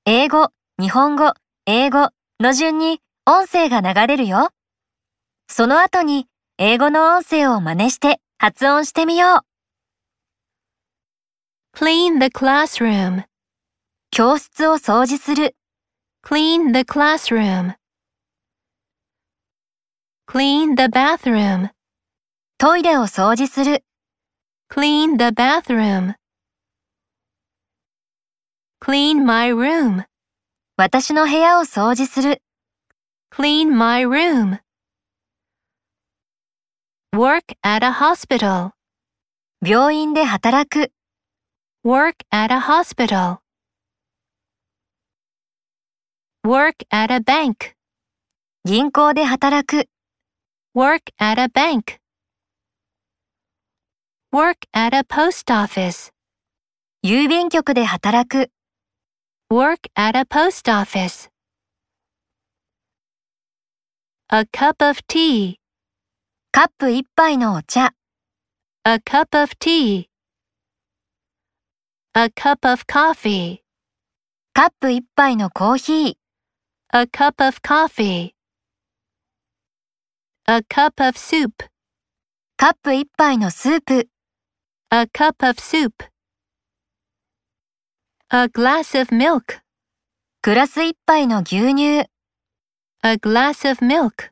英語、日本語、英語の順に音声が流れるよ。その後に英語の音声を真似して発音してみよう。 Clean the classroom. 教室を掃除する。 Clean the classroom. Clean the bathroom. トイレを掃除する。 Clean the bathroom. Clean my room. 私の部屋を掃除する。 Clean my room. Work at a hospital. 病院で働く。 Work at a hospital. Work at a bank. 銀行で働く。 Work at a bank. Work at a post office. 郵便局で働く。 Work at a post office. A cup of tea. カップ一杯のお茶。 A cup of tea. A cup of coffee. カップ一杯のコーヒー。 A cup of coffee. A cup of soup. カップ一杯のスープ。 A cup of soup. A glass of milk. グラス一杯の牛乳。 A glass of milk.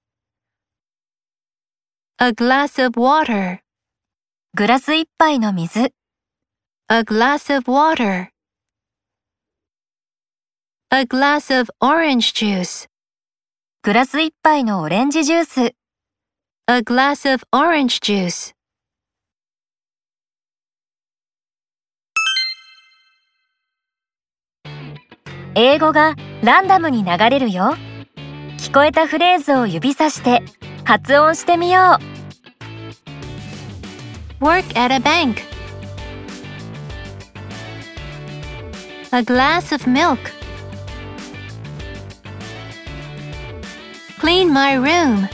A glass of water. グラス一杯の水。 A glass of water. A glass of orange juice. グラス一杯のオレンジジュース。 A glass of orange juice. 英語がランダムに流れるよ。聞こえたフレーズを指さして発音してみよう。 Work at a bank. A glass of milk. Clean my room.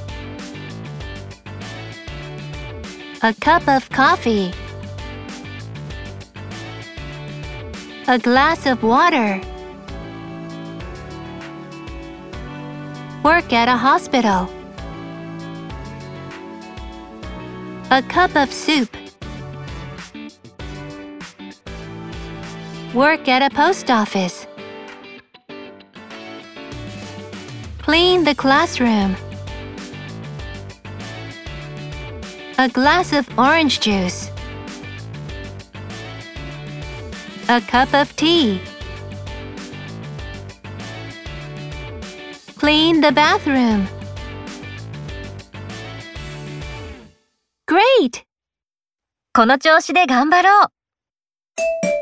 A cup of coffee. A glass of water. Work at a hospital. A cup of soup. Work at a post office. Clean the classroom. A glass of orange juice. A cup of tea. Clean the bathroom. Great! この調子で頑張ろう。